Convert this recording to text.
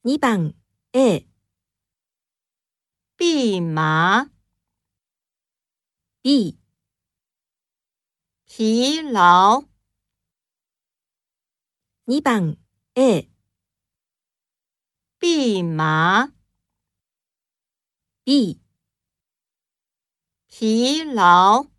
2番 A、 蓖麻、 B、 疲劳、 2番 A、 蓖麻、 B、 疲劳。